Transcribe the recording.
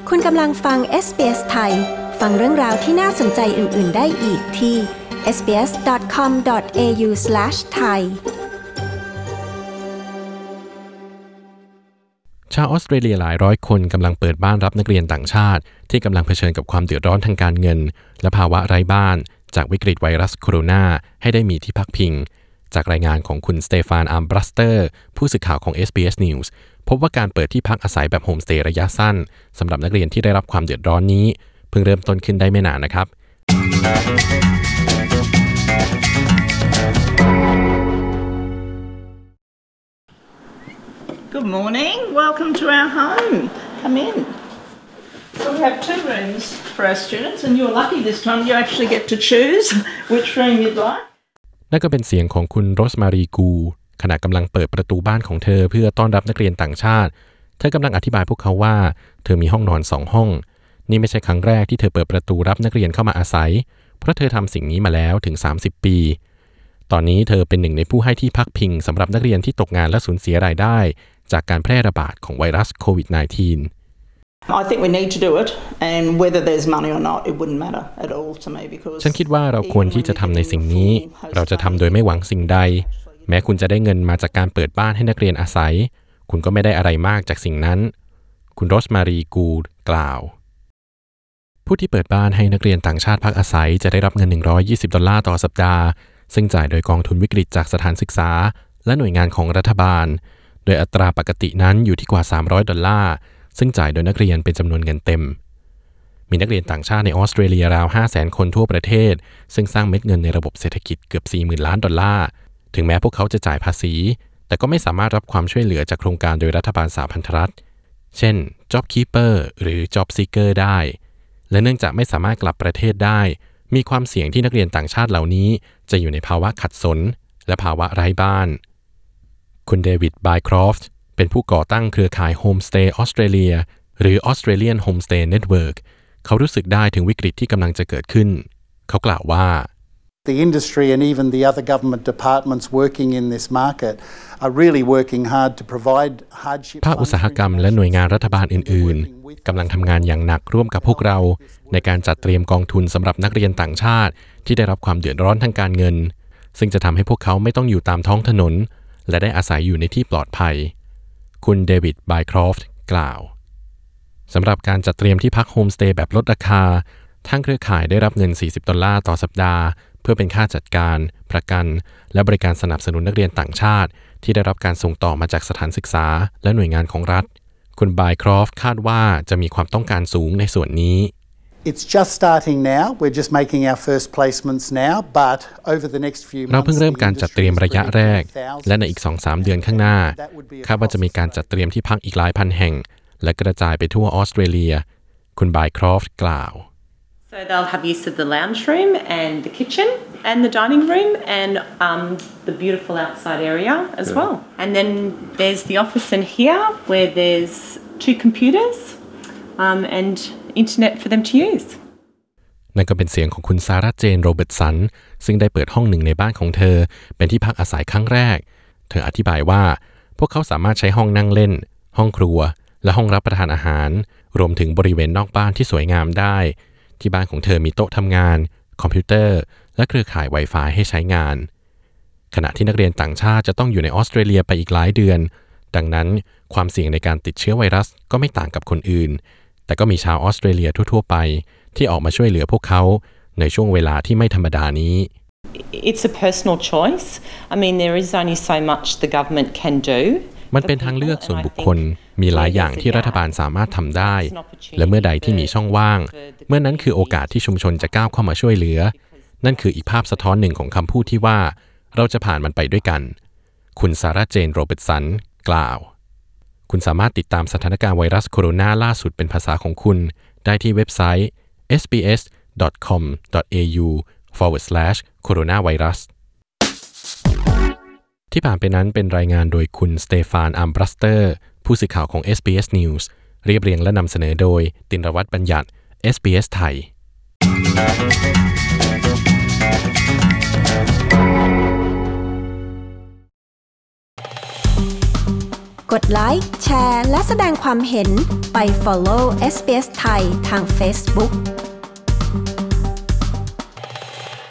คุณกำลังฟัง SBS ไทยฟังเรื่องราวที่น่าสนใจอื่นๆได้อีกที่ sbs.com.au/thai ชาวออสเตรเลียหลายร้อยคนกำลังเปิดบ้านรับนักเรียนต่างชาติที่กำลังเผชิญกับความเดือดร้อนทางการเงินและภาวะไร้บ้านจากวิกฤตไวรัสโคโรนาให้ได้มีที่พักพิงจากรายงานของคุณสเตฟาน อัมบรัสเตอร์ผู้สื่อข่าวของ SBS News พบว่าการเปิดที่พักอาศัยแบบโฮมสเตย์ระยะสั้นสำหรับนักเรียนที่ได้รับความเดือดร้อนนี้เพิ่งเริ่มต้นขึ้นได้ไม่นานนะครับ Good morning. Welcome to our home. Come in. So we have 2 rooms for our students, and you're lucky this time. You actually get to choose which room you'd like. นั่นก็เป็นเสียงของคุณโรสมารีกูขณะกำลังเปิดประตูบ้านของเธอเพื่อต้อนรับนักเรียนต่างชาติเธอกำลังอธิบายพวกเขาว่าเธอมีห้องนอน2ห้องนี่ไม่ใช่ครั้งแรกที่เธอเปิดประตูรับนักเรียนเข้ามาอาศัยเพราะเธอทำสิ่งนี้มาแล้วถึง30ปีตอนนี้เธอเป็นหนึ่งในผู้ให้ที่พักพิงสำหรับนักเรียนที่ตกงานและสูญเสียรายได้จากการแพร่ระบาดของไวรัสโควิด -19 I think we need to do it, and whether there's money or not, it wouldn't matter at all to me because ฉันคิดว่าเราควรที่จะทำในสิ่งนี้เราจะทำโดยไม่หวังสิ่งใดแม้คุณจะได้เงินมาจากการเปิดบ้านให้นักเรียนอาศัยคุณก็ไม่ได้อะไรมากจากสิ่งนั้นคุณโรสมารีกูดกล่าวผู้ที่เปิดบ้านให้นักเรียนต่างชาติพักอาศัยจะได้รับเงิน$120ต่อสัปดาห์ซึ่งจ่ายโดยกองทุนวิกฤตจากสถานศึกษาและหน่วยงานของรัฐบาลโดยอัตราปกตินั้นอยู่ที่กว่า$300ซึ่งจ่ายโดยนักเรียนเป็นจำนวนเงินเต็มมีนักเรียนต่างชาติในออสเตรเลียราว 500,000 คนทั่วประเทศซึ่งสร้างเม็ดเงินในระบบเศรษฐกิจเกือบ$40,000 ล้านถึงแม้พวกเขาจะจ่ายภาษีแต่ก็ไม่สามารถรับความช่วยเหลือจากโครงการโดยรัฐบาลสหพันธรัฐเช่น Job Keeper หรือ Job Seeker ได้และเนื่องจากไม่สามารถกลับประเทศได้มีความเสี่ยงที่นักเรียนต่างชาติเหล่านี้จะอยู่ในภาวะขัดสนและภาวะไร้บ้านคุณเดวิด บายครอฟต์เป็นผู้ก่อตั้งเครือข่าย Homestay Australia หรือ Australian Homestay Network เขารู้สึกได้ถึงวิกฤตที่กำลังจะเกิดขึ้นเขากล่าวว่า The industry and even the other government departments working in this market are really working hard to provide hardship ภาคอุตสาหกรรมและหน่วยงานรัฐบาลอื่นๆกำลังทำงานอย่างหนักร่วมกับพวกเราในการจัดเตรียมกองทุนสำหรับนักเรียนต่างชาติที่ได้รับความเดือดร้อนทางการเงินซึ่งจะทำให้พวกเขาไม่ต้องอยู่ตามท้องถนนและได้อาศัยอยู่ในที่ปลอดภัยคุณเดวิด บายครอฟต์กล่าวสำหรับการจัดเตรียมที่พักโฮมสเตย์แบบลดราคาทางเครือข่ายได้รับเงิน$40ต่อสัปดาห์เพื่อเป็นค่าจัดการประกันและบริการสนับสนุนนักเรียนต่างชาติที่ได้รับการส่งต่อมาจากสถานศึกษาและหน่วยงานของรัฐคุณบายครอฟต์คาดว่าจะมีความต้องการสูงในส่วนนี้ It's just starting now. We're just making our first placements now, but over the next few months เราเพิ่งเริ่มการจัดเตรียมระยะแรกและในอีก 2-3 เดือนข้างหน้าคาดว่าจะมีการจัดเตรียมที่พักอีกหลายพันแห่งและกระจายไปทั่วออสเตรเลียคุณบายครอฟต์กล่าว So they'll have use of the lounge room and the kitchen and the dining room and the beautiful outside area as well. And then there's the office in here where there's 2 computers and internet for them to use. นั่นก็เป็นเสียงของคุณซาร่า เจน โรเบิร์ตสันซึ่งได้เปิดห้องหนึ่งในบ้านของเธอเป็นที่พักอาศัยครั้งแรกเธออธิบายว่าพวกเขาสามารถใช้ห้องนั่งเล่นห้องครัวและห้องรับประทานอาหารรวมถึงบริเวณนอกบ้านที่สวยงามได้ที่บ้านของเธอมีโต๊ะทำงานคอมพิวเตอร์และเครือข่าย Wi-Fi ให้ใช้งานขณะที่นักเรียนต่างชาติจะต้องอยู่ในออสเตรเลียไปอีกหลายเดือนดังนั้นความเสี่ยงในการติดเชื้อไวรัสก็ไม่ต่างกับคนอื่นแต่ก็มีชาวออสเตรเลียทั่วๆไปที่ออกมาช่วยเหลือพวกเขาในช่วงเวลาที่ไม่ธรรมดานี้ It's a personal choice. I mean, there is only so much the government can do. มันเป็นทางเลือกส่วนบุคคลมีหลายอย่างที่รัฐบาลสามารถทำได้และเมื่อใดที่มีช่องว่างเมื่อนั้นคือโอกาสที่ชุมชนจะก้าวเข้ามาช่วยเหลือนั่นคืออีกภาพสะท้อนหนึ่งของคำพูดที่ว่าเราจะผ่านมันไปด้วยกันคุณซาร่า เจน โรเบิร์ตสันกล่าวคุณสามารถติดตามสถานการณ์ไวรัสโคโรนาล่าสุดเป็นภาษาของคุณได้ที่เว็บไซต์ sbs.com.au/coronavirus ที่ผ่านไปนั้นเป็นรายงานโดยคุณสเตฟาน อัมบรัสเตอร์ผู้สื่อข่าวของ SBS News เรียบเรียงและนำเสนอโดยตินรวัฒน์บัญญัติ SBS ไทยกดไลค์ แชร์ และแสดงความเห็นไป follow SBS ไทยทาง Facebook